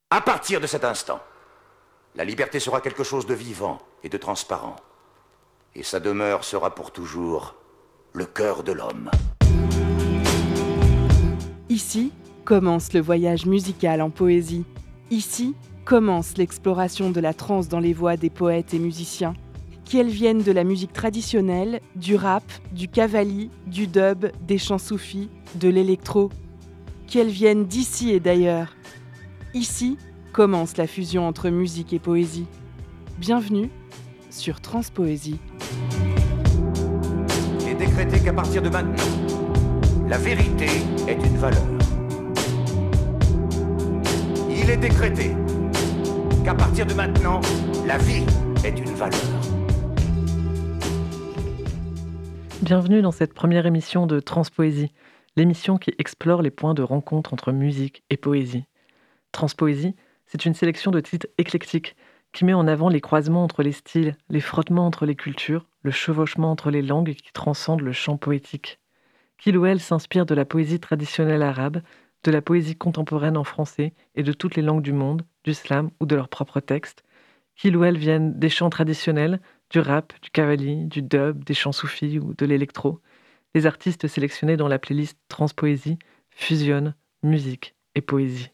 À partir de cet instant, la liberté sera quelque chose de vivant et de transparent. Et sa demeure sera pour toujours le cœur de l'homme. Ici commence le voyage musical en poésie. Ici commence l'exploration de la trance dans les voix des poètes et musiciens. Qu'elles viennent de la musique traditionnelle, du rap, du qawwali, du dub, des chants soufis, de l'électro. Qu'elles viennent d'ici et d'ailleurs. Ici commence la fusion entre musique et poésie. Bienvenue sur Transpoésie. Il est décrété qu'à partir de maintenant, la vérité est une valeur. Il est décrété qu'à partir de maintenant, la vie est une valeur. Bienvenue dans cette première émission de Transpoésie, l'émission qui explore les points de rencontre entre musique et poésie. Transpoésie, c'est une sélection de titres éclectiques qui met en avant les croisements entre les styles, les frottements entre les cultures, le chevauchement entre les langues qui transcendent le chant poétique. Qu'il ou elle s'inspire de la poésie traditionnelle arabe, de la poésie contemporaine en français et de toutes les langues du monde, du slam ou de leurs propres textes. Qu'il ou elle vienne des chants traditionnels, du rap, du qawwali, du dub, des chants soufis ou de l'électro. Les artistes sélectionnés dans la playlist Transpoésie fusionnent musique et poésie.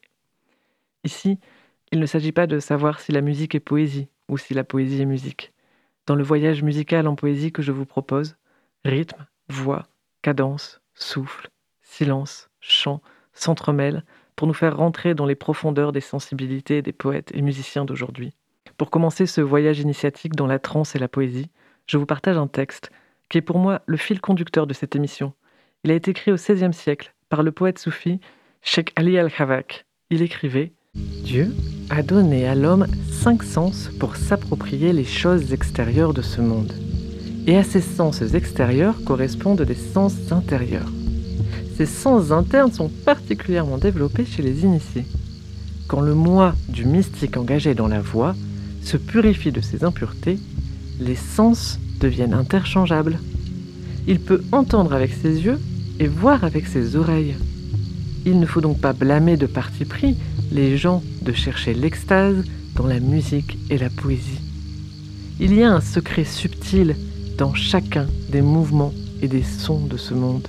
Ici, il ne s'agit pas de savoir si la musique est poésie ou si la poésie est musique. Dans le voyage musical en poésie que je vous propose, rythme, voix, cadence, souffle, silence, chant s'entremêlent pour nous faire rentrer dans les profondeurs des sensibilités des poètes et musiciens d'aujourd'hui. Pour commencer ce voyage initiatique dans la trance et la poésie, je vous partage un texte qui est pour moi le fil conducteur de cette émission. Il a été écrit au XVIe siècle par le poète soufi Cheikh Ali al-Khawak. Il écrivait « Dieu a donné à l'homme 5 sens pour s'approprier les choses extérieures de ce monde. Et à ces sens extérieurs correspondent des sens intérieurs. Ces sens internes sont particulièrement développés chez les initiés. Quand le moi du mystique engagé dans la voix se purifie de ses impuretés, les sens deviennent interchangeables. Il peut entendre avec ses yeux et voir avec ses oreilles. Il ne faut donc pas blâmer de parti pris les gens de chercher l'extase dans la musique et la poésie. Il y a un secret subtil dans chacun des mouvements et des sons de ce monde.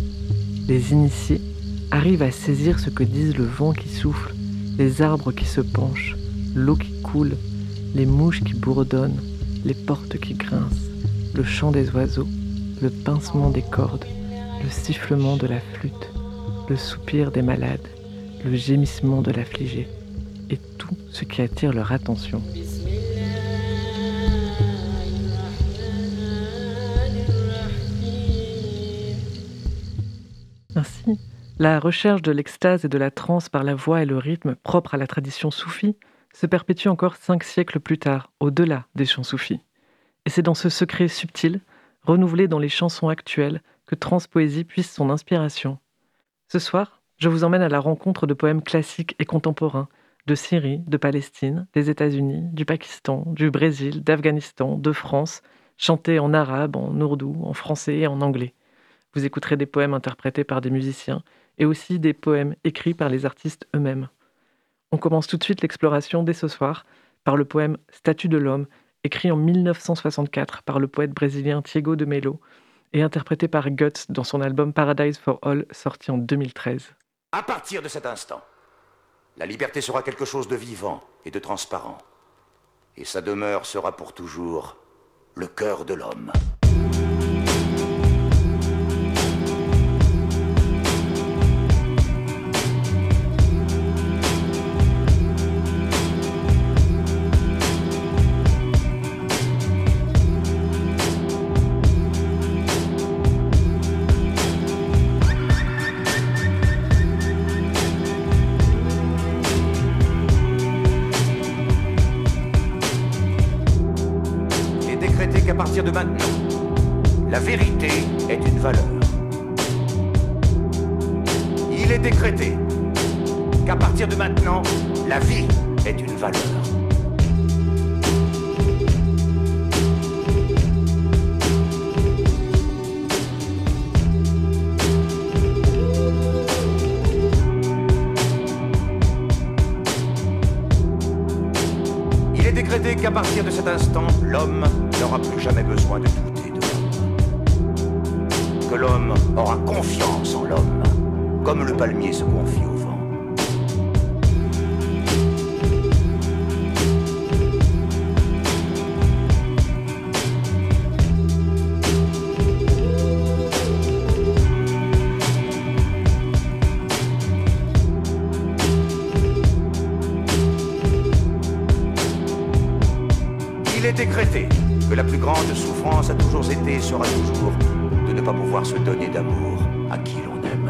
Les initiés arrivent à saisir ce que disent le vent qui souffle, les arbres qui se penchent, l'eau qui coule, les mouches qui bourdonnent, les portes qui grincent, le chant des oiseaux, le pincement des cordes, le sifflement de la flûte, le soupir des malades, le gémissement de l'affligé, et tout ce qui attire leur attention. Ainsi, la recherche de l'extase et de la transe par la voix et le rythme propre à la tradition soufie se perpétue encore 5 siècles plus tard, au-delà des chants soufis. Et c'est dans ce secret subtil, renouvelé dans les chansons actuelles, que Transpoésie puise son inspiration. Ce soir, je vous emmène à la rencontre de poèmes classiques et contemporains, de Syrie, de Palestine, des États-Unis, du Pakistan, du Brésil, d'Afghanistan, de France, chantés en arabe, en ourdou, en français et en anglais. Vous écouterez des poèmes interprétés par des musiciens et aussi des poèmes écrits par les artistes eux-mêmes. On commence tout de suite l'exploration dès ce soir par le poème « Statue de l'homme » écrit en 1964 par le poète brésilien Tiago de Mello et interprété par Guts dans son album Paradise for All sorti en 2013. À partir de cet instant, la liberté sera quelque chose de vivant et de transparent. Et sa demeure sera pour toujours le cœur de l'homme. Qu'à partir de maintenant, la vérité est une valeur. Il est décrété qu'à partir de maintenant, la vie est une valeur. décrété qu'à partir de cet instant, l'homme n'aura plus jamais besoin de douter de l'homme. Que l'homme aura confiance en l'homme, comme le palmier se confie au vent. Il est décrété que la plus grande souffrance a toujours été et sera toujours de ne pas pouvoir se donner d'amour à qui l'on aime.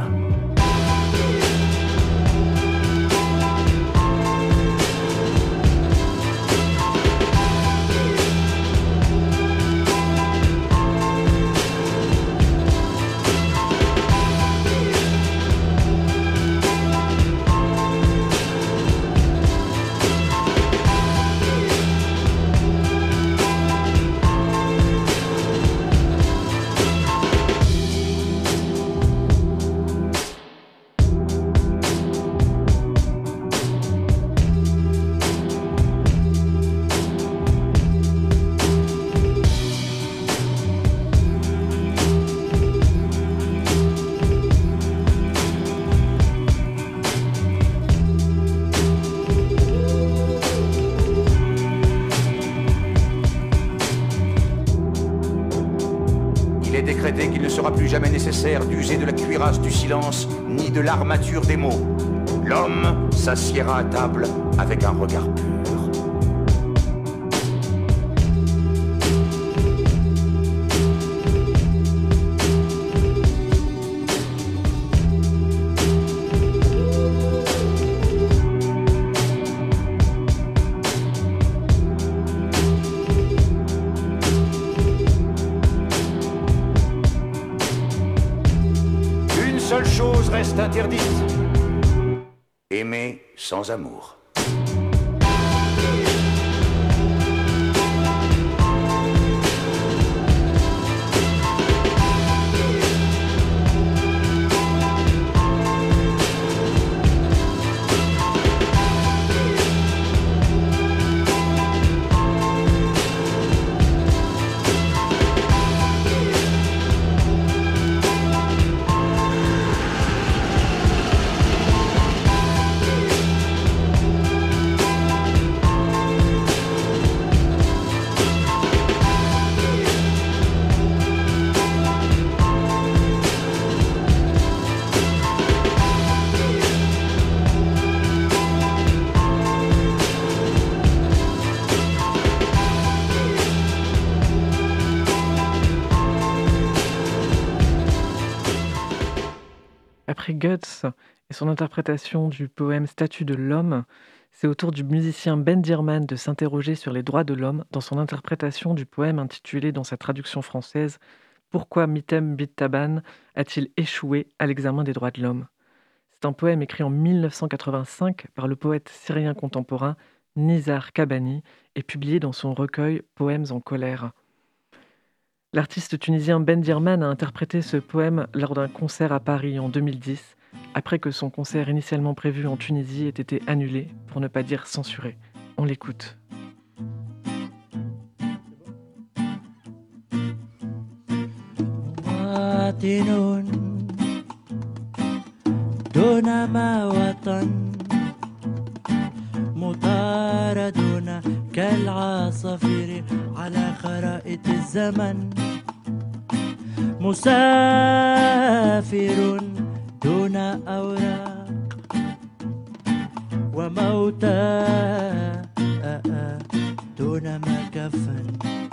Qu'il ne sera plus jamais nécessaire d'user de la cuirasse du silence ni de l'armature des mots. L'homme s'assiera à table avec un regard pur. Seule chose reste interdite. Aimer sans amour. Après Guts et son interprétation du poème Statue de l'homme, c'est au tour du musicien Ben Dirman de s'interroger sur les droits de l'homme dans son interprétation du poème intitulé dans sa traduction française « Pourquoi Mitem Bit Taban a-t-il échoué à l'examen des droits de l'homme ?» C'est un poème écrit en 1985 par le poète syrien contemporain Nizar Kabani et publié dans son recueil Poèmes en colère. L'artiste tunisien Ben Dirman a interprété ce poème lors d'un concert à Paris en 2010, après que son concert initialement prévu en Tunisie ait été annulé, pour ne pas dire censuré. On l'écoute. مطاردون كالعصافير على خرائط الزمن مسافر دون أوراق وموتى دون مكفن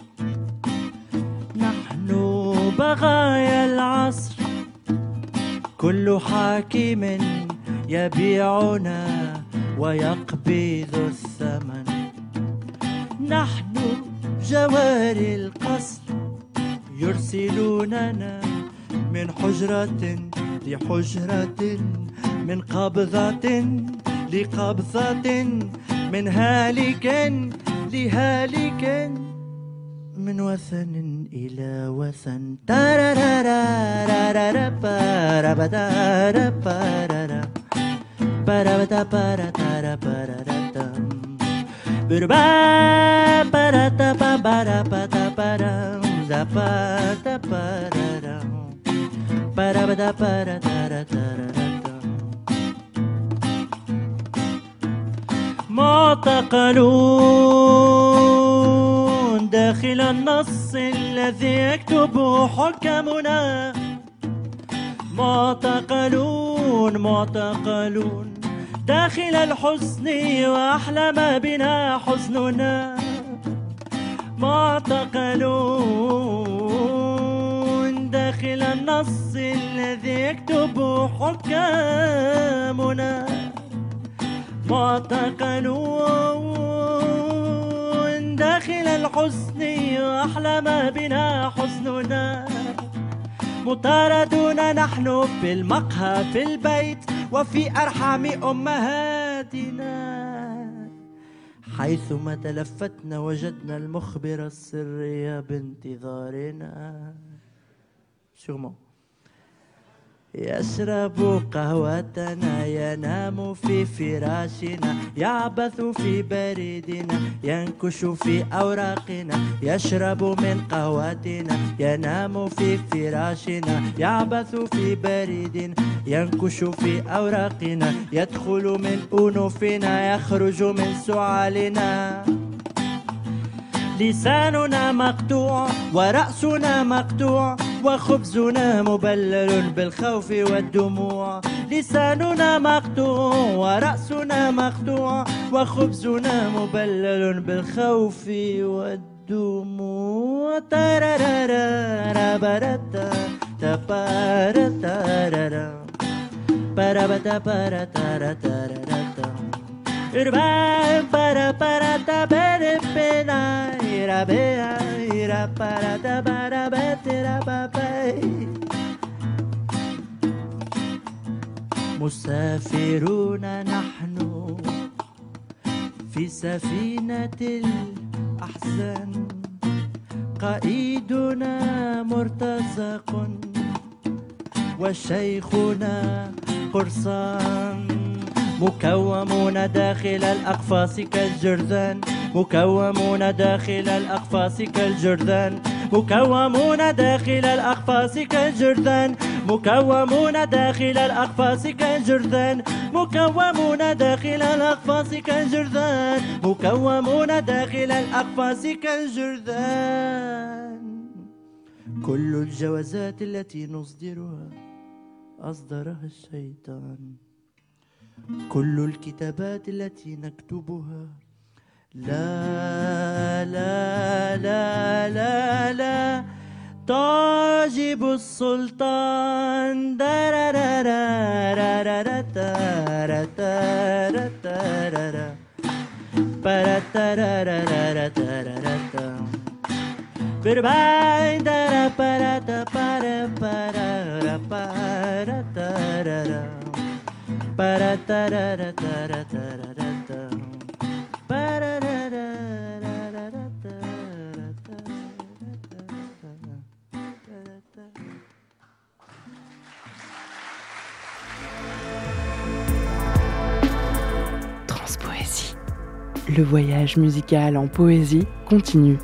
نحن بغايا العصر كل حاكم يبيعنا ويقبض الثمن نحن جواري القصر يرسلوننا من حجرة لحجرة من قبضة لقبضة من هالك لهالك من وثن إلى وثن معتقلون داخل النص الذي يكتبه حكمنا. معتقلون داخل الحزن وأحلم بنا حزننا. معتقلون داخل النص الذي يكتبه حكامنا. معتقلون داخل الحزن وأحلم بنا حزننا. مطاردون نحن في المقهى في البيت وفي أرحام أمهاتنا. حيثما تلفتنا وجدنا المخبر السري بانتظارنا. Sûrement. يشرب قهوتنا ينام في فراشنا يعبث في بريدنا ينكش في أوراقنا. يشرب من قهوتنا ينام في فراشنا يعبث في بريدنا ينكش في أوراقنا. يدخل من أنوفنا يخرج من سعالنا. لساننا مقطوع ورأسنا مقطوع وخبزنا مبلل بالخوف والدموع. لساننا مقطوع ورأسنا مقطوع وخبزنا مبلل بالخوف والدموع. تارارارا برتا تبارتارارا بربتا برتارارا Irba para ta bere pena ira bea ira para ta bara betera papai. مسافرون نحن في سفينة الأحزان. قائدنا مرتزق وشيخنا قرصان. مكومون داخل الأقفاص كالجرذان. مكومون داخل الأقفاص كالجرذان. مكومون داخل الأقفاص كالجرذان. مكومون داخل الأقفاص كالجرذان. مكومون داخل الأقفاص كالجرذان. مكومون داخل الأقفاص كالجرذان. كل الجوازات التي نصدرها أصدرها الشيطان. كل الكتابات التي نكتبها لا لا لا لا لا تعجب السلطان. Transpoésie. Le voyage musical en poésie continue.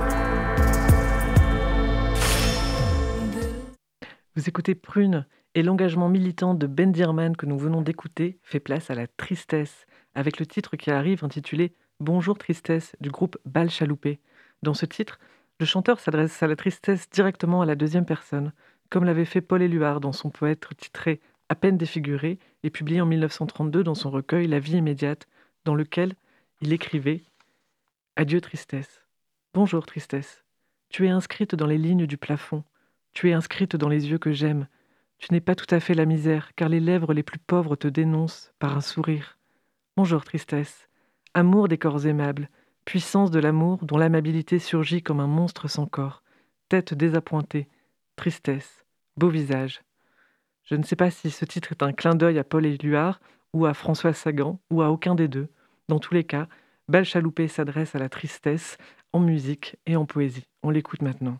Vous écoutez Prune et l'engagement militant de Ben Dirman que nous venons d'écouter fait place à la tristesse, avec le titre qui arrive intitulé « Bonjour tristesse » du groupe Bal Chaloupé. Dans ce titre, le chanteur s'adresse à la tristesse directement à la deuxième personne, comme l'avait fait Paul Éluard dans son poète titré « À peine défiguré » et publié en 1932 dans son recueil « La vie immédiate », dans lequel il écrivait « Adieu tristesse, bonjour tristesse, tu es inscrite dans les lignes du plafond, tu es inscrite dans les yeux que j'aime. Tu n'es pas tout à fait la misère, car les lèvres les plus pauvres te dénoncent par un sourire. Bonjour tristesse, amour des corps aimables, puissance de l'amour dont l'amabilité surgit comme un monstre sans corps, tête désappointée, tristesse, beau visage. » Je ne sais pas si ce titre est un clin d'œil à Paul Éluard, ou à François Sagan, ou à aucun des deux. Dans tous les cas, Bal Chaloupé s'adresse à la tristesse en musique et en poésie. On l'écoute maintenant.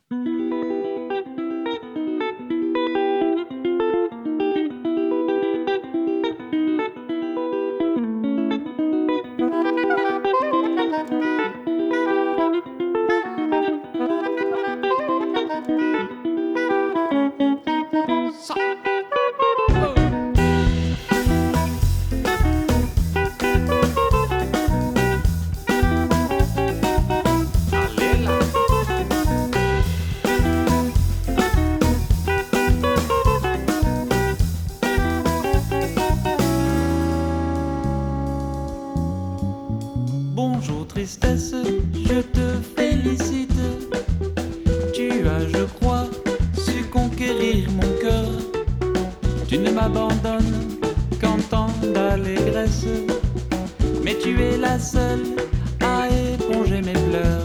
Bonjour tristesse, je te félicite. Tu as, je crois, su conquérir mon cœur. Tu ne m'abandonnes qu'en temps d'allégresse, mais tu es la seule à éponger mes pleurs.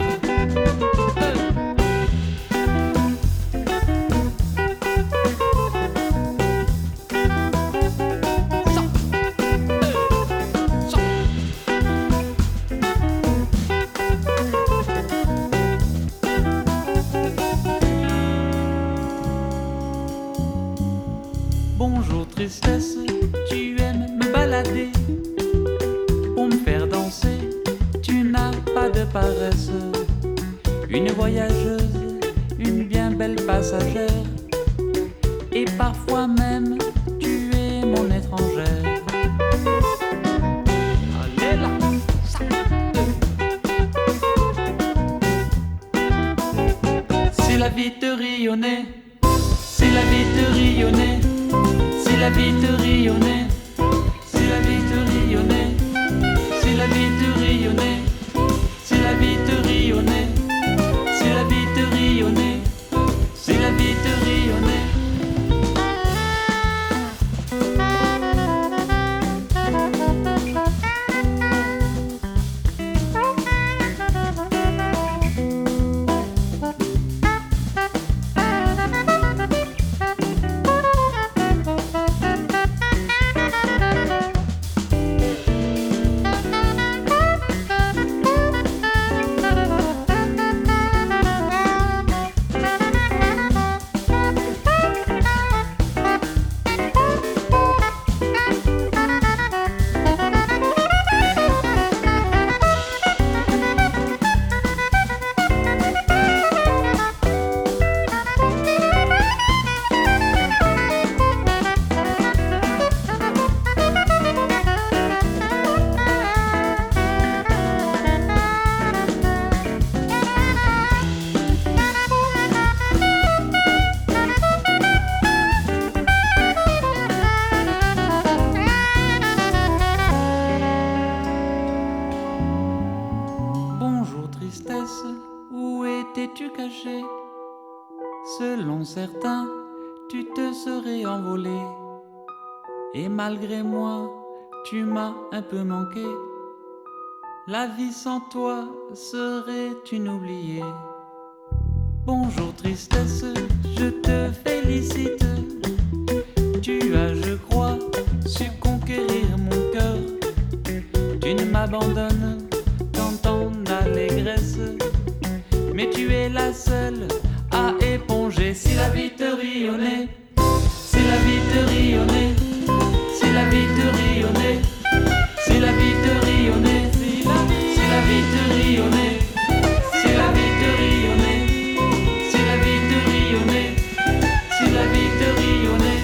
Bonjour tristesse, tu aimes me balader. Pour me faire danser, tu n'as pas de paresse. Une voyageuse, une bien belle passagère. Et parfois même, tu es mon étrangère. Allez là, si la vie te rayonnait, si la vie te rayonnait, si la vie te rayonnait, si la vie te rayonnait, si la vie te rayonnait, si la vie te rayonnait, si la vie te rayonnait, si la vie te rayonnait. Où étais-tu caché? Selon certains, tu te serais envolé. Et malgré moi, tu m'as un peu manqué. La vie sans toi serait une oubliée. Bonjour tristesse, je te félicite. Tu as, je crois, su conquérir mon cœur. Tu ne m'abandonnes qu'en temps d'allégresse, mais tu es la seule à éponger. Si la vie te rayonnait, si la vie te rayonnait, si la vie te rayonnait, si la vie te rayonnait, si la vie te rayonnait, si la vie te rayonnait, si la vie te rayonnait, si la vie te rayonnait.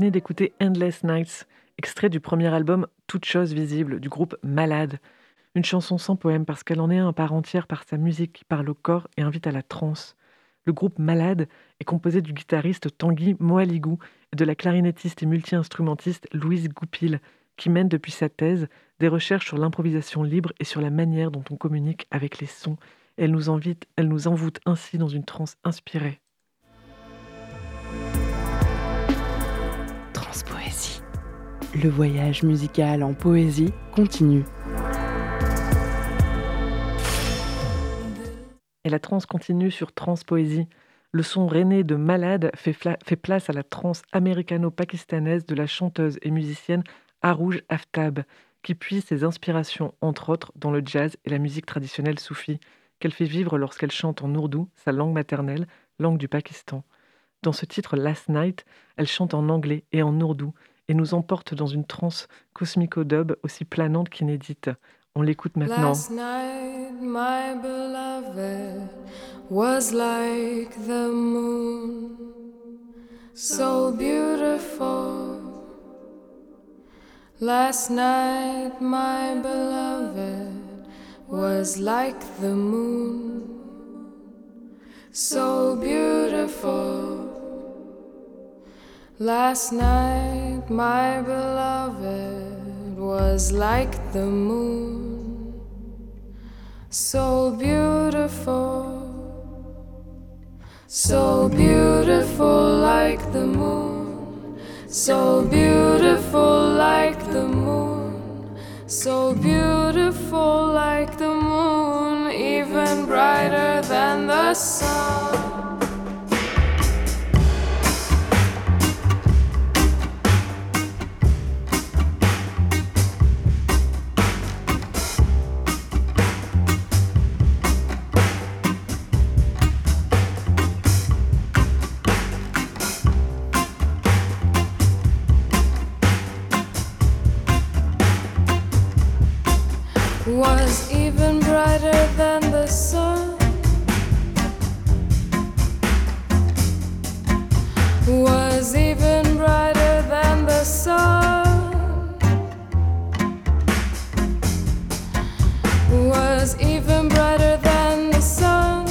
venez d'écouter Endless Nights, extrait du premier album Toute chose visible du groupe Malade. Une chanson sans poème parce qu'elle en est un à part entière par sa musique qui parle au corps et invite à la transe. Le groupe Malade est composé du guitariste Tanguy Moaligou et de la clarinettiste et multi-instrumentiste Louise Goupil, qui mène depuis sa thèse des recherches sur l'improvisation libre et sur la manière dont on communique avec les sons. Elle nous envoûte ainsi dans une transe inspirée. Transpoésie. Le voyage musical en poésie continue. Et la transe continue sur Transpoésie. Le son rennais de Malade fait place à la transe américano-pakistanaise de la chanteuse et musicienne Arouj Aftab, qui puise ses inspirations, entre autres, dans le jazz et la musique traditionnelle soufie, qu'elle fait vivre lorsqu'elle chante en ourdou, sa langue maternelle, langue du Pakistan. Dans ce titre Last Night, elle chante en anglais et en ourdou et nous emporte dans une transe cosmico-dub aussi planante qu'inédite. On l'écoute maintenant. Last night, my beloved was like the moon, so beautiful. Last night, my beloved was like the moon, so beautiful. Last night, my beloved was like the moon, so beautiful, so beautiful like the moon, so beautiful like the moon, so beautiful like the moon, even brighter than the sun. Was even brighter than the sun, was even brighter than the sun, was even brighter than the sun.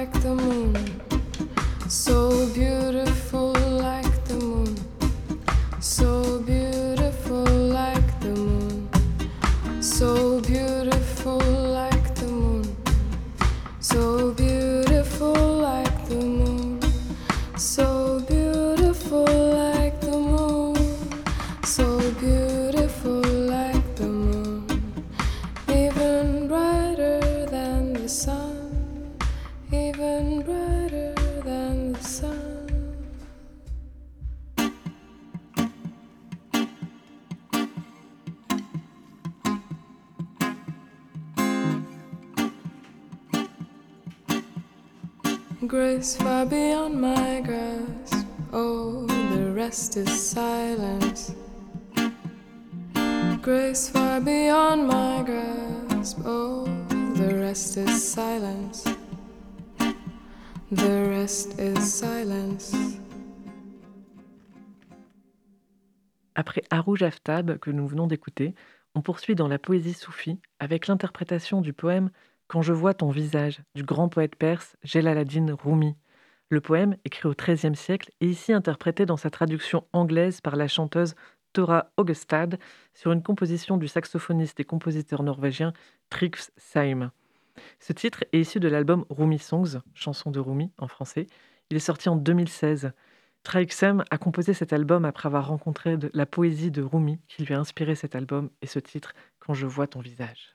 like the moon, so beautiful like the moon, so beautiful like the moon, so beautiful like the moon, so beautiful like the moon, so beautiful like the moon, so beautiful like the moon, even brighter than the sun, even brighter than the sun. Grace far beyond my grasp, oh, the rest is silence. Grace far beyond my grasp, oh, the rest is silence. The rest is silence. Après Arouj Aftab, que nous venons d'écouter, on poursuit dans la poésie soufie avec l'interprétation du poème Quand je vois ton visage du grand poète perse Jalaluddin Rumi. Le poème, écrit au XIIIe siècle, est ici interprété dans sa traduction anglaise par la chanteuse Thora Augestad sur une composition du saxophoniste et compositeur norvégien Trygve Seim. Ce titre est issu de l'album Rumi Songs, chanson de Rumi en français. Il est sorti en 2016. Trygve Seim a composé cet album après avoir rencontré la poésie de Rumi qui lui a inspiré cet album et ce titre Quand je vois ton visage.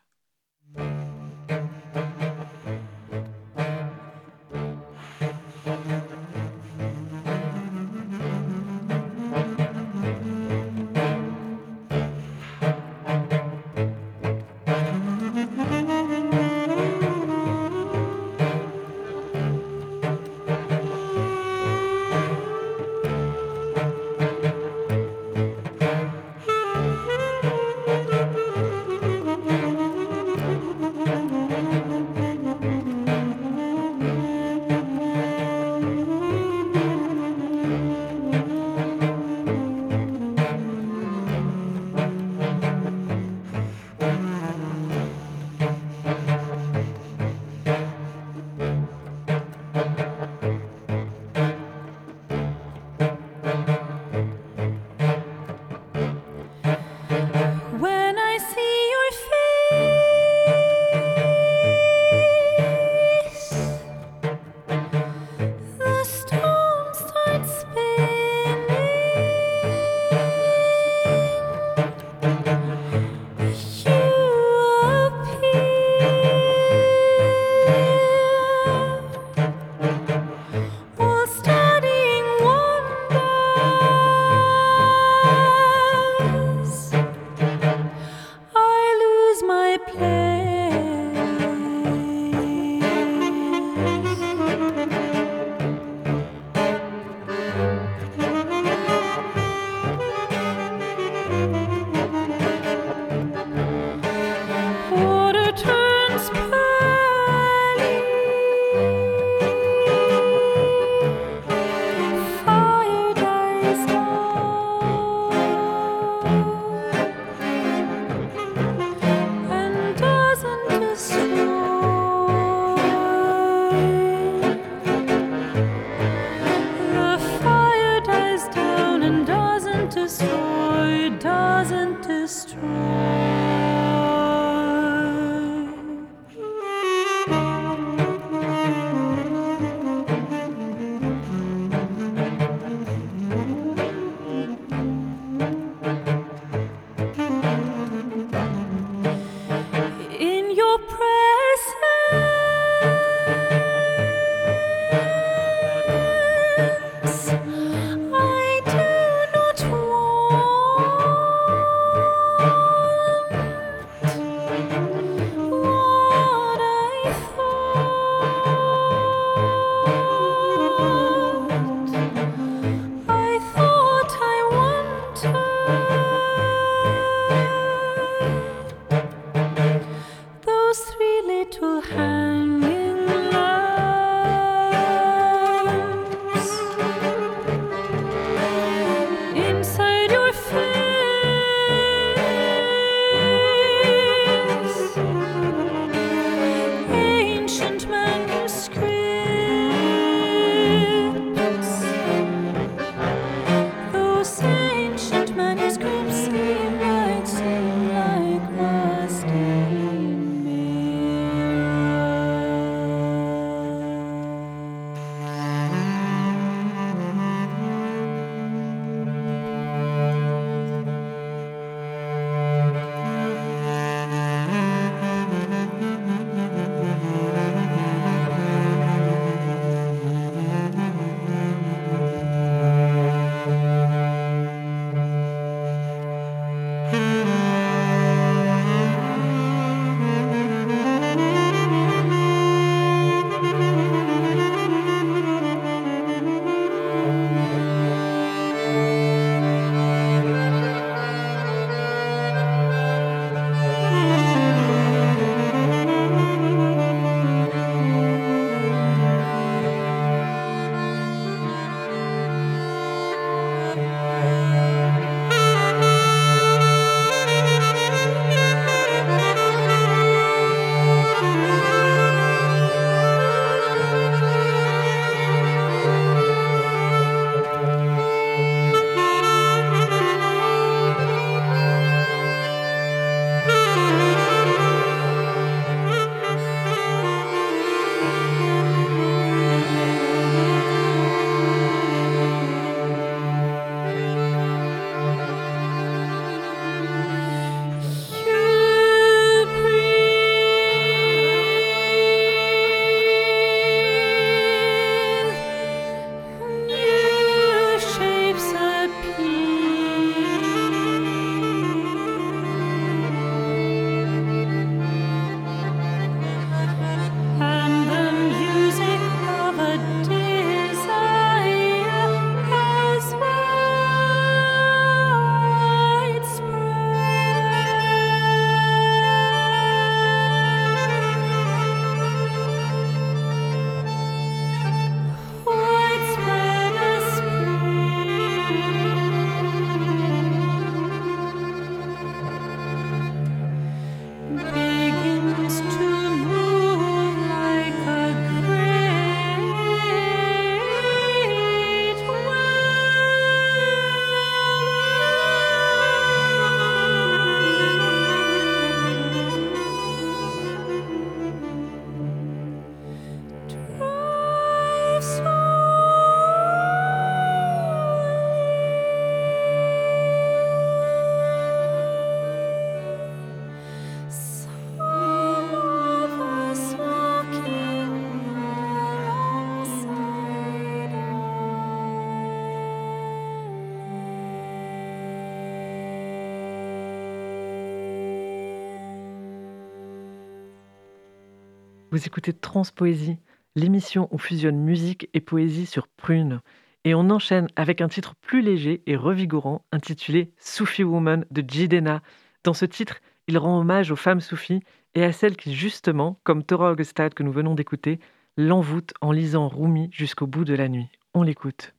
Vous écoutez Transpoésie, l'émission où fusionne musique et poésie sur Prune. Et on enchaîne avec un titre plus léger et revigorant intitulé Soufi Woman de Jidenna. Dans ce titre, il rend hommage aux femmes soufis et à celles qui, justement, comme Tora Augustad que nous venons d'écouter, l'envoûtent en lisant Rumi jusqu'au bout de la nuit. On l'écoute.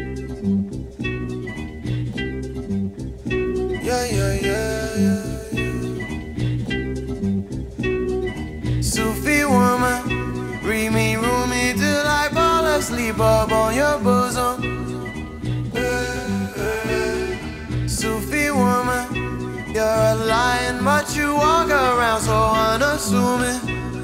Yeah, yeah, yeah, yeah. Sufi woman, read me, Rumi till I fall asleep up on your bosom. Sufi woman, you're a lion, but you walk around so unassuming.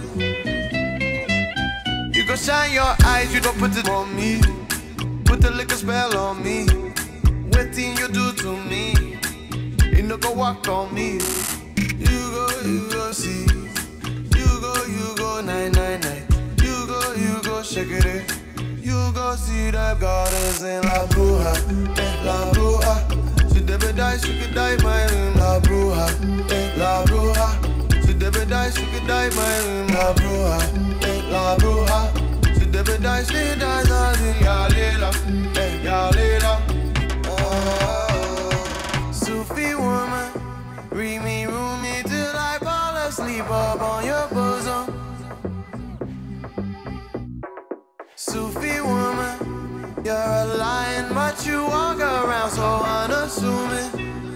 You go shine your eyes, you don't put it on me. Put the liquor spell on me. What thing you do to me? You no go walk on me. You go see. You go 999. You go shake it. You go see the goddess in La Bruja, La Bruja. She never die, she could die my room. La Bruja, La Bruja. She never die, she could die my room. La Bruja, La Bruja. She never die, she dies on the Yalila, Yalila. Sufi woman, read me, Rumi till I fall asleep up on your bosom. Sufi woman, you're a lion, but you walk around so unassuming.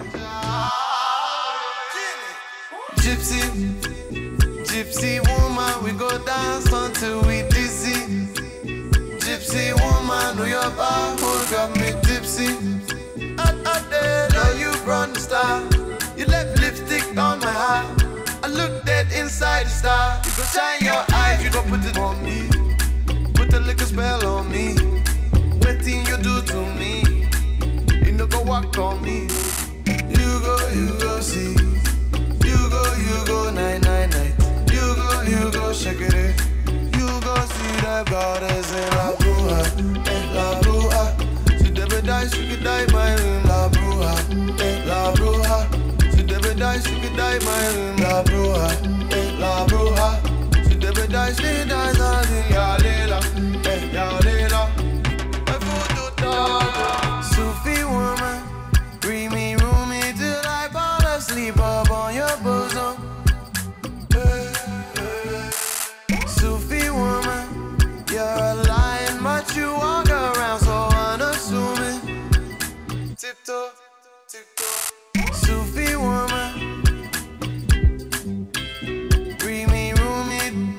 Gypsy, gypsy woman, we go dance until we dizzy. Gypsy woman, do your bar, got me tipsy. Up there, now you brought the star. You left lipstick on my heart. I look dead inside the star. You go shine your eyes, you don't put it on me. Put the liquor spell on me. What thing you do to me? You no go walk on me. You go see. You go 999. You go shake it. You go see the goddess in La Bruja, La Bruja. She never die, she could die my room. La Bruja, La Bruja. She never die, she could die my room. La Bruja, La Bruja. She never die, she dies on the Yalila, Yalila. Sufi woman, read me, Rumi till I fall asleep up on your bosom. Sufi woman, you're a lion, but you walk around so unassuming. Tiptoe, tiptoe. Sufi woman, read me, Rumi.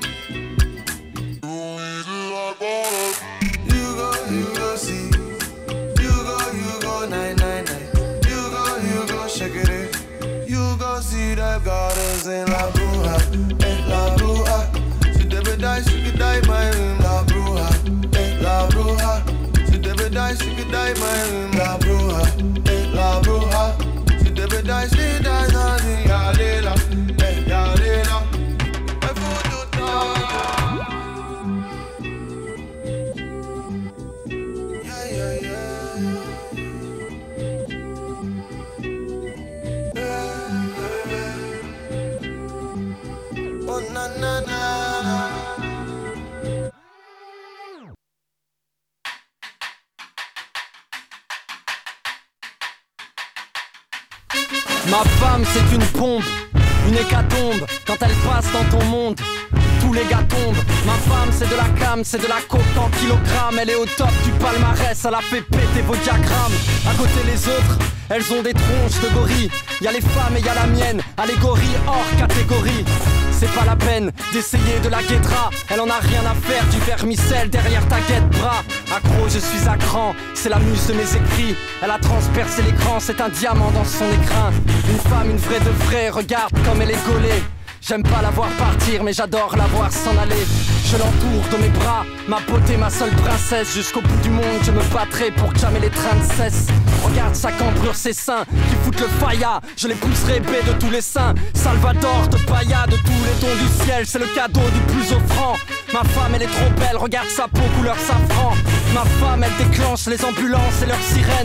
You go see. You go 999. You go shake it. You go see the goddess in La Bruja, La Bruja. She never die, she could die my room. La Bruja, La Bruja. She never die, she could die my room. La Bruja, La Bruja. She never die, she dies on the Yalila, Yalila. Ma femme c'est une pompe, une hécatombe. Quand elle passe dans ton monde, tous les gars tombent. Ma femme c'est de la cam, c'est de la coke en kilogrammes. Elle est au top du palmarès, elle a fait péter vos diagrammes. À côté les autres, elles ont des tronches de gorilles. Y'a les femmes et y'a la mienne, allégorie hors catégorie. C'est pas la peine d'essayer de la guédra. Elle en a rien à faire du vermicelle derrière ta guette-bras. Accro, je suis à cran, c'est la muse de mes écrits. Elle a transpercé l'écran, c'est un diamant dans son écrin. Une femme, une vraie de vraie, regarde comme elle est gaulée. J'aime pas la voir partir, mais j'adore la voir s'en aller. Je l'entoure de mes bras, ma beauté, ma seule princesse. Jusqu'au bout du monde, je me battrai pour que jamais les trains ne cessent. Regarde sa cambrure, ses seins qui foutent le faïa. Je les pousserai épais de tous les saints. Salvador de Bahia, de tous les dons du ciel. C'est le cadeau du plus offrant. Ma femme, elle est trop belle, regarde sa peau couleur safran. Ma femme, elle déclenche les ambulances et leurs sirènes.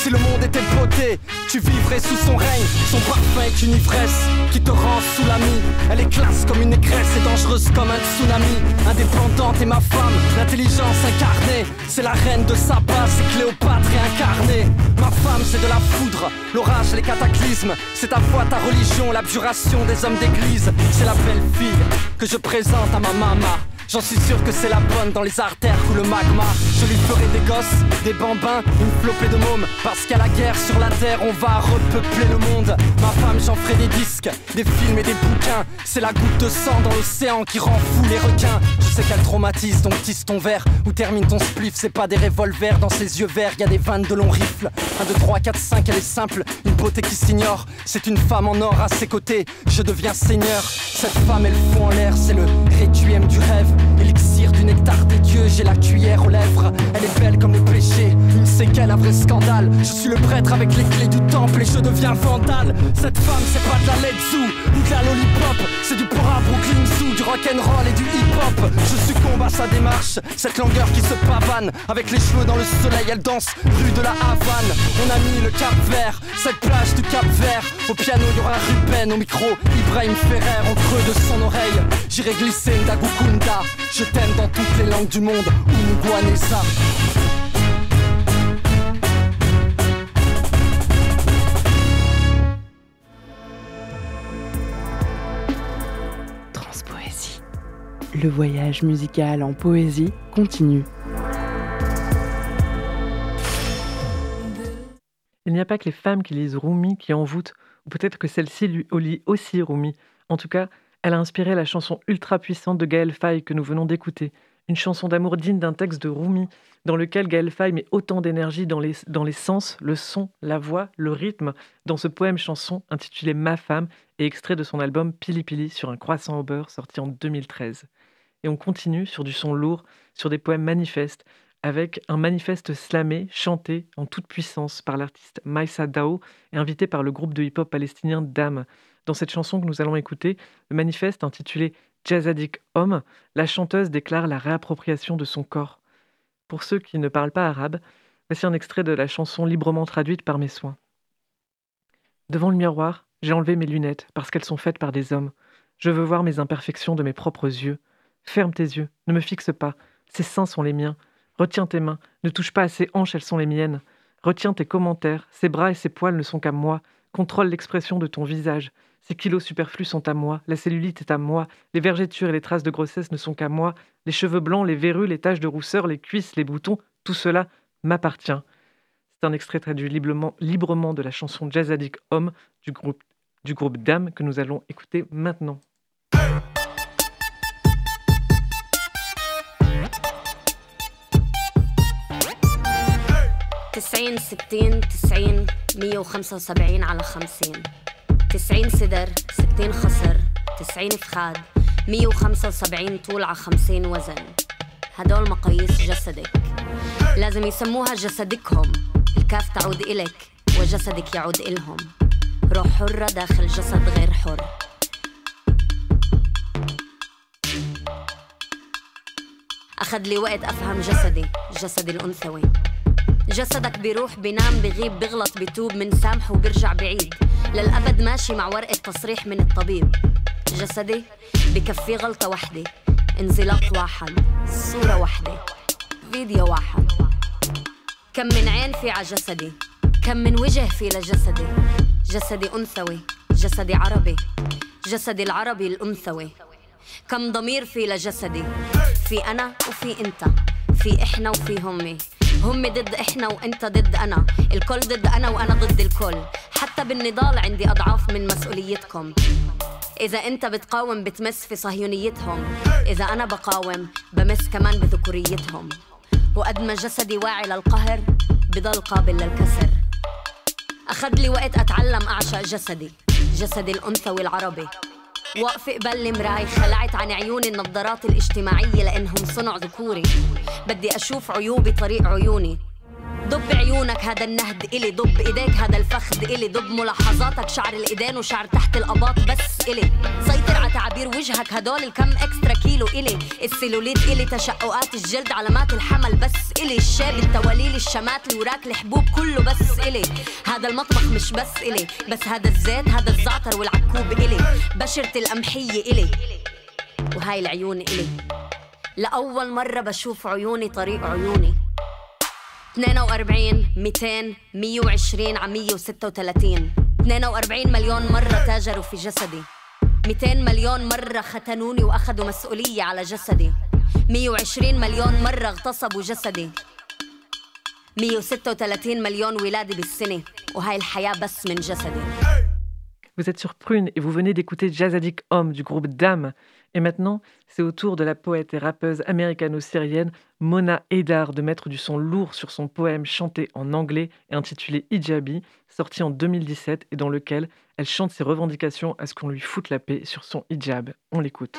Si le monde était beauté, tu vivrais sous son règne. Son parfum est une ivresse qui te rend sous la mie. Elle est classe comme une négresse et dangereuse comme un tsunami. Indépendante est ma femme, l'intelligence incarnée. C'est la reine de Saba, c'est Cléopâtre réincarnée. Ma femme c'est de la foudre, l'orage, les cataclysmes. C'est ta foi, ta religion, l'abjuration des hommes d'église. C'est la belle fille que je présente à ma maman. J'en suis sûr que c'est la bonne, dans les artères coule le magma. Je lui ferai des gosses, des bambins, une flopée de mômes. Parce qu'à la guerre sur la terre, on va repeupler le monde. Ma femme, j'en ferai des disques, des films et des bouquins. C'est la goutte de sang dans l'océan qui rend fou les requins. Je sais qu'elle traumatise, donc tisse ton verre ou termine ton spliff. C'est pas des revolvers dans ses yeux verts, y'a des vannes de longs rifles. 1, 2, 3, 4, 5, elle est simple, une beauté qui s'ignore. C'est une femme en or à ses côtés, je deviens seigneur. Cette femme, elle fout en l'air, c'est le requiem du rêve. Élixir du nectar des dieux, j'ai la cuillère aux lèvres. Elle est belle comme le péché, une séquelle, un vrai scandale. Je suis le prêtre avec les clés du temple et je deviens vandale. Cette femme c'est pas de la Letzu ou de la lollipop. C'est du Pora Brooklyn Zoo, du rock'n'roll et du hip-hop. Je succombe à sa démarche, cette langueur qui se pavane. Avec les cheveux dans le soleil, elle danse rue de la Havane. On a mis le Cap Vert, cette plage du Cap Vert. Au piano y'aura Ruben, au micro Ibrahim Ferrer. En creux de son oreille, j'irai glisser Ndagukunda. Je t'aime dans toutes les langues du monde, Unguanesa. Transpoésie. Le voyage musical en poésie continue. Il n'y a pas que les femmes qui lisent Rumi qui envoûtent, ou peut-être que celle-ci lui lit aussi Rumi. En tout cas, elle a inspiré la chanson ultra puissante de Gaël Faye que nous venons d'écouter. Une chanson d'amour digne d'un texte de Rumi, dans lequel Gaël Faye met autant d'énergie dans les sens, le son, la voix, le rythme, dans ce poème-chanson intitulé Ma femme et extrait de son album Pili Pili sur un croissant au beurre sorti en 2013. Et on continue sur du son lourd, sur des poèmes manifestes, avec un manifeste slamé, chanté en toute puissance par l'artiste Maïssa Dao et invité par le groupe de hip-hop palestinien Dam. Dans cette chanson que nous allons écouter, le manifeste intitulé Jazzadik Homme, la chanteuse déclare la réappropriation de son corps. Pour ceux qui ne parlent pas arabe, voici un extrait de la chanson librement traduite par mes soins. Devant le miroir, j'ai enlevé mes lunettes parce qu'elles sont faites par des hommes. Je veux voir mes imperfections de mes propres yeux. Ferme tes yeux, ne me fixe pas. Ces seins sont les miens. Retiens tes mains, ne touche pas à ces hanches, elles sont les miennes. Retiens tes commentaires, ces bras et ces poils ne sont qu'à moi. Contrôle l'expression de ton visage. Ces kilos superflus sont à moi, la cellulite est à moi, les vergetures et les traces de grossesse ne sont qu'à moi, les cheveux blancs, les verrues, les taches de rousseur, les cuisses, les boutons, tout cela m'appartient. C'est un extrait traduit librement de la chanson Jazzadik Homme du groupe Dam que nous allons écouter maintenant. 90 60 90 175 على 50 90 صدر 60 خصر 90 فخاد 175 طول على 50 وزن. هدول مقاييس جسدك لازم يسموها جسدكهم. الكاف تعود إلك وجسدك يعود إلهم. روح حرة داخل جسد غير حر. أخذ لي وقت أفهم جسدي الأنثوي. جسدك بيروح بينام بغيب بغلط بيتوب من سامح وبرجع بعيد للأبد ماشي مع ورقة تصريح من الطبيب. جسدي بكفي غلطة وحدة انزلاق واحد صورة واحدة فيديو واحد. كم من عين في ع جسدي كم من وجه في لجسدي. جسدي أنثوي جسدي عربي جسدي العربي الأنثوي. كم ضمير في لجسدي في أنا وفي أنت في إحنا وفي همي. هم ضد إحنا وأنت ضد أنا الكل ضد أنا وأنا ضد الكل. حتى بالنضال عندي أضعاف من مسؤوليتكم. إذا أنت بتقاوم بتمس في صهيونيتهم. إذا أنا بقاوم بمس كمان بذكوريتهم. وقد ما جسدي واعي للقهر بضل قابل للكسر. أخذ لي وقت أتعلم أعشق جسدي الأنثوي العربي. واقفة قبل المراي خلعت عن عيوني النظارات الاجتماعية لأنهم صنع ذكوري. بدي أشوف عيوبي طريق عيوني ضب عيونك هذا النهد إلي، ضب إيديك هذا الفخد إلي، ضب ملاحظاتك شعر الإيدين وشعر تحت الأباط بس إلي، سيطر على تعابير وجهك هدول الكم إكسترا كيلو إلي، السيلوليت إلي، تشققات الجلد علامات الحمل بس إلي، الشاب التواليل الشمات اللي وراك الحبوب كله بس إلي، هذا المطبخ مش بس إلي، بس هذا الزيت هذا الزعتر والعكوب إلي، بشرة القمحية إلي، وهاي العيون إلي، لأول مرة بشوف عيوني طريق عيوني، 42 200 120 على 136 42 مليون مرة تاجروا في جسدي، 200 مليون مرة ختنوني وأخذوا مسؤولية على جسدي، 120 مليون مرة اغتصبوا جسدي، 136 مليون ولادة بالسنة، وهاي الحياة بس من جسدي. Vous êtes sur Prune et vous venez d'écouter Jazzadik Homme du groupe Dame. Et maintenant, c'est au tour de la poète et rappeuse américano-syrienne Mona Haydar de mettre du son lourd sur son poème chanté en anglais et intitulé Hijabi, sorti en 2017 et dans lequel elle chante ses revendications à ce qu'on lui foute la paix sur son hijab. On l'écoute.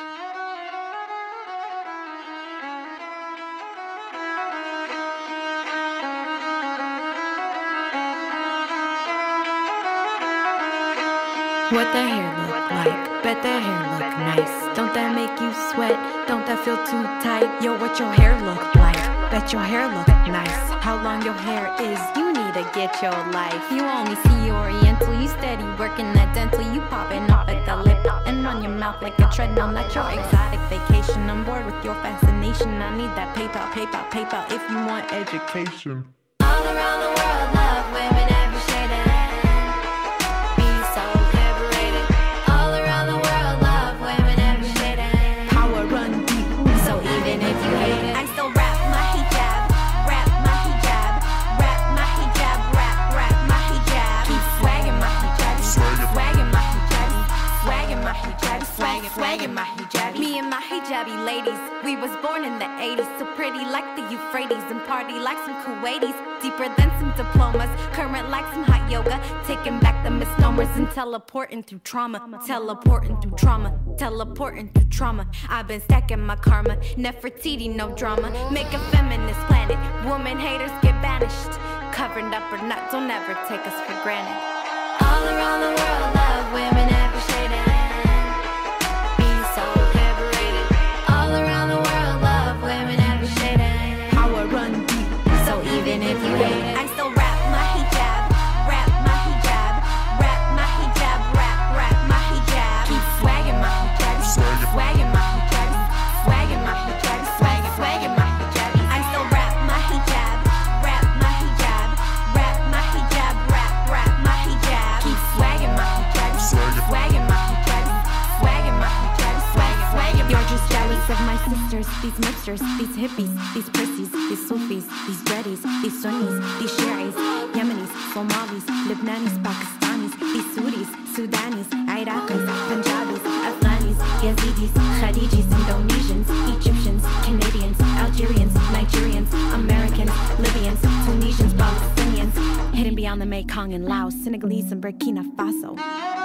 What their hair look like, bet their hair look nice. Don't that make you sweat? Don't that feel too tight? Yo, what your hair look like? Bet your hair look nice. How long your hair is, you need to get your life. You only see Oriental, you steady working that dental. You popping off at the lip and on your mouth like a treadmill. Not your exotic vacation, I'm bored with your fascination. I need that PayPal, PayPal, PayPal if you want education. All around the world, love women every shade of Me and my hijabi ladies, we was born in the 80s, so pretty like the Euphrates and party like some Kuwaitis, deeper than some diplomas, current like some hot yoga, taking back the misnomers and teleporting through trauma, teleporting through trauma, teleporting through trauma. I've been stacking my karma, Nefertiti, no drama, make a feminist planet, woman haters get banished, covered up or not, don't ever take us for granted. All around the world, love women every shade of I still rap my hijab, rap my hijab, rap my hijab, rap my hijab. Keep swagging my hijab, swagging my hijab, swagging my hijab, swagging my hijab. I still rap my hijab, rap my hijab, rap my hijab, rap my hijab. Keep swagging my hijab, swagging my hijab, swagging my hijab, swagging. You're just jealous of my sisters, these mixtures, these hippies, these prissies, these Sufis, these dreadies, these Sunnis, these Shi'is, Yemenis, Somalis, Lebanese, Pakistanis, these Sudis, Sudanis, Iraqis, Punjabis, Afghanis, Yazidis, Khadijis, Indonesians, Egyptians, Canadians, Algerians, Nigerians, Americans, Libyans, Tunisians, Palestinians, hidden beyond the Mekong and Laos, Senegalese and Burkina Faso.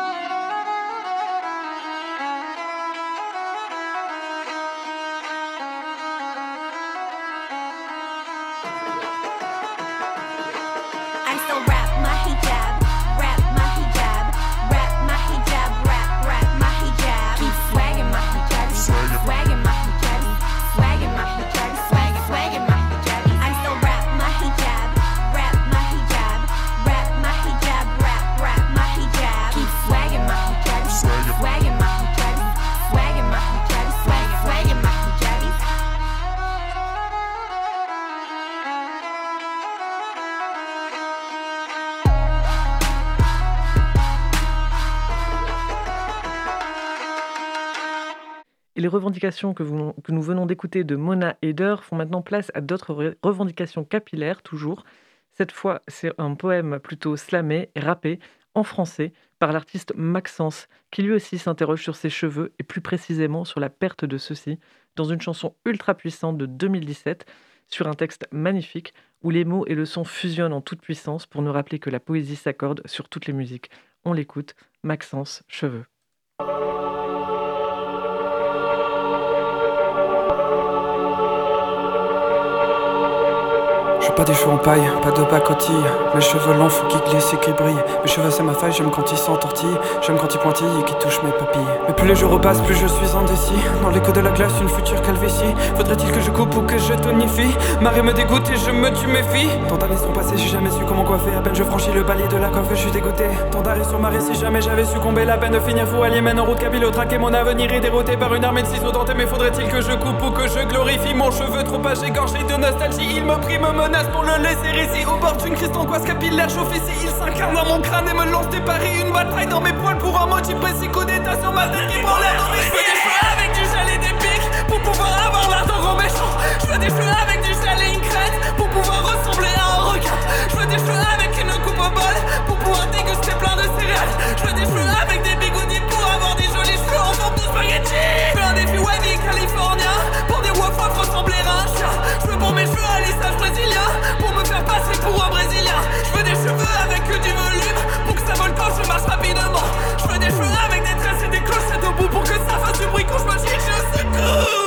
Et les revendications que nous venons d'écouter de Mona Haydar font maintenant place à d'autres revendications capillaires, toujours. Cette fois, c'est un poème plutôt slamé et rappé en français par l'artiste Maxence, qui lui aussi s'interroge sur ses cheveux et plus précisément sur la perte de ceux-ci, dans une chanson ultra puissante de 2017, sur un texte magnifique où les mots et le son fusionnent en toute puissance pour nous rappeler que la poésie s'accorde sur toutes les musiques. On l'écoute, Maxence, cheveux. Je suis pas des cheveux en paille, pas de pacotille. Mes cheveux longs, faut qu'ils glissent et qu'ils brillent. Mes cheveux c'est ma faille, j'aime quand ils s'entortillent. J'aime quand ils pointillent et qu'ils touchent mes papilles. Mais plus les jours repassent, plus je suis indécis. Dans l'écho de la glace, une future calvitie. Faudrait-il que je coupe ou que je tonifie? Marée me dégoûte et je me tue mes filles. Tant d'années sont passées, j'ai jamais su comment coiffer. À peine je franchis le palier de la coiffe, je suis dégoûté. Tant d'arrêts sur marée, si jamais j'avais succombé. La peine de finir fou à Yémen en route capillotraqué. Mon avenir est dérouté par une armée de ciseaux dentés. Mais faudrait-il que je coupe ou que je glorifie? Mon cheveu trop âgé, gorgé de nostalgie. Il me prie, me menace pour le laisser ici. Au bord d'une crise angoisse capillaire chauffe ici. Il s'incarne dans mon crâne et me lance des paris. Une bataille dans mes poils pour un motif précis. Coup d'état sur ma tête qui prend l'air dans mes cheveux. Des cheveux avec du gel et des pics pour pouvoir avoir l'air d'un gros méchant. Je veux des cheveux avec du gel et une crête pour pouvoir ressembler à un requin. Je veux des cheveux avec une coupe au bol pour pouvoir déguster plein de céréales. Je veux des cheveux avec des bigoudis pour avoir des jolis cheveux en forme de spaghetti. Je veux un défi wavy californien pour des wafaf ressembler à un chien. Je veux pour mes cheveux un lissage brésilien pour me faire passer pour un brésilien. Je veux des cheveux avec du volume pour que ça vole quand je marche rapidement. Je veux des cheveux avec des tresses et des clochettes au bout pour que ça fasse du bruit quand je me chie au secours.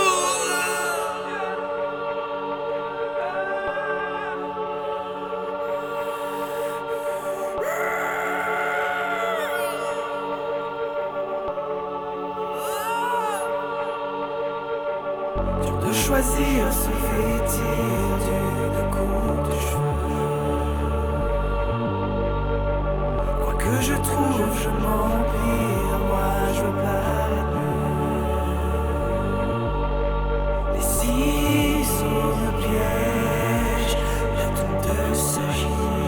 Choisir se vêtir d'une coupe de cheveux. Quoi que je trouve, je m'empire, moi je veux paraître mieux. Les ciseaux me piègent, la tondeuse s'agite,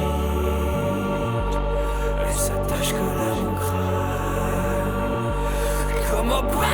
elle s'attache que à mon crâne, comme au bras.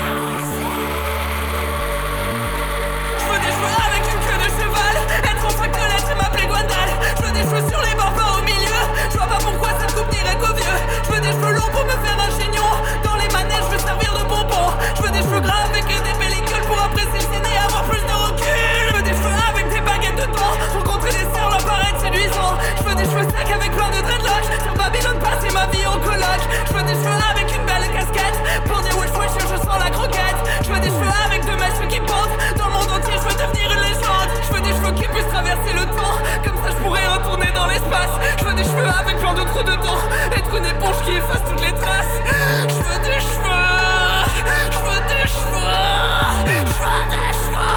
Être en fac de lettres et m'appeler Gwendal. Je veux des cheveux sur les bords, pas au milieu. Je vois pas pourquoi ça coupe dirait qu'au vieux. Je veux des cheveux longs pour me faire un chignon. Dans les manèges, je veux servir de bonbon. Je veux des cheveux gras avec des pellicules pour apprécier le ciné et avoir plus de recul. Je veux des cheveux avec des baguettes de temps. Rencontrer des sœurs, leur paraître séduisant. Je veux des cheveux secs avec plein de dreadlocks. Sur Babylone, passer ma vie en coloc. Je veux des cheveux avec une belle casquette. Pour dire wesh wesh, je sens la croquette. Je veux des cheveux avec deux mèches qui pendent. Dans le monde entier, je veux devenir une légende. Je veux des cheveux qui puissent traverser le temps. Comme ça je pourrais retourner dans l'espace. Je veux des cheveux avec plein de trous dedans. Être une éponge qui efface toutes les traces. Je veux des cheveux. Je veux des cheveux. Je veux des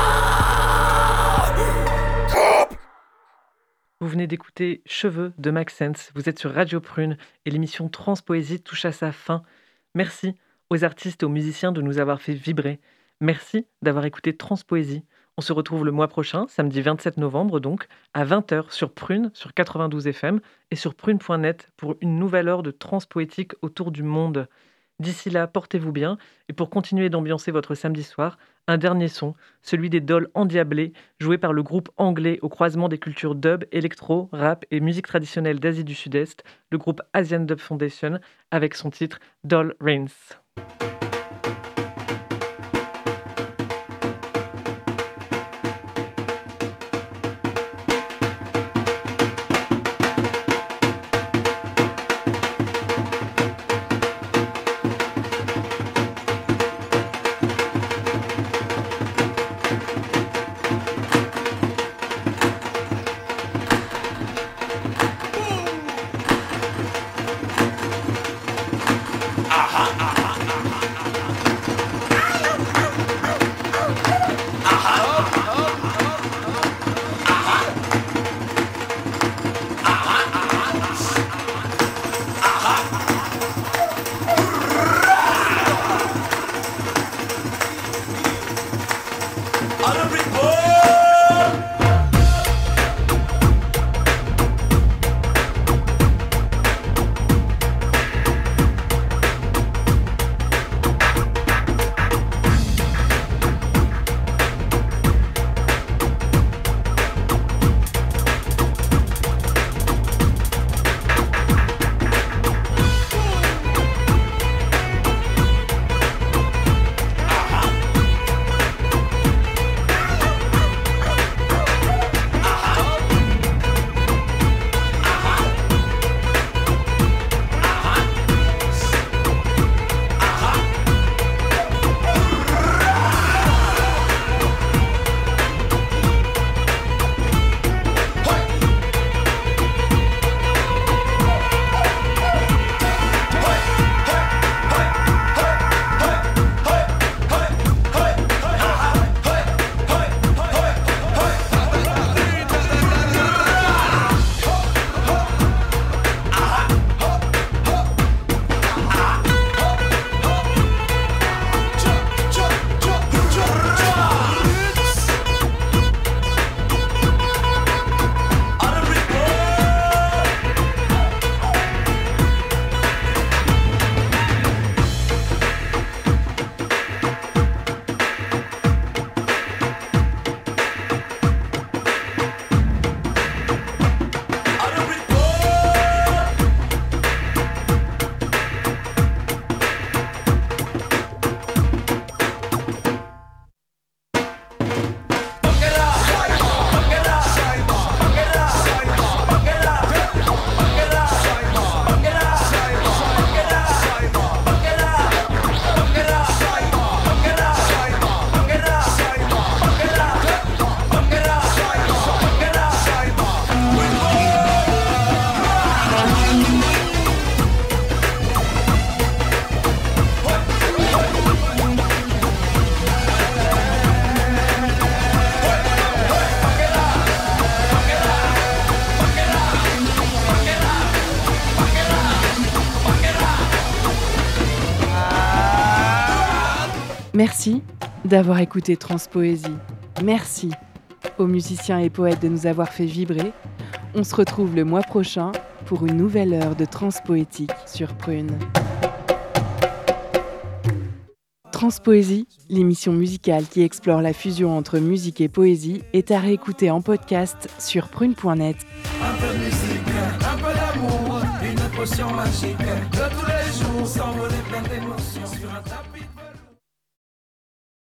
cheveux. Vous venez d'écouter Cheveux de Maxence. Vous êtes sur Radio Prune et l'émission Transpoésie touche à sa fin. Merci aux artistes et aux musiciens de nous avoir fait vibrer. Merci d'avoir écouté Transpoésie. On se retrouve le mois prochain, samedi 27 novembre donc, à 20h sur Prune, sur 92 FM et sur prune.net pour une nouvelle heure de transpoétique autour du monde. D'ici là, portez-vous bien et pour continuer d'ambiancer votre samedi soir, un dernier son, celui des Dolls Endiablés, joué par le groupe anglais au croisement des cultures dub, électro, rap et musique traditionnelle d'Asie du Sud-Est, le groupe Asian Dub Foundation, avec son titre Doll Reigns. Ah ah ah ah ah. Merci d'avoir écouté Transpoésie. Merci aux musiciens et poètes de nous avoir fait vibrer. On se retrouve le mois prochain pour une nouvelle heure de transpoétique sur Prune. Transpoésie, l'émission musicale qui explore la fusion entre musique et poésie, est à réécouter en podcast sur prune.net. Un peu de musique, un peu d'amour, une potion magique de tous les jours, s'envoler plein d'émotions sur un tapis de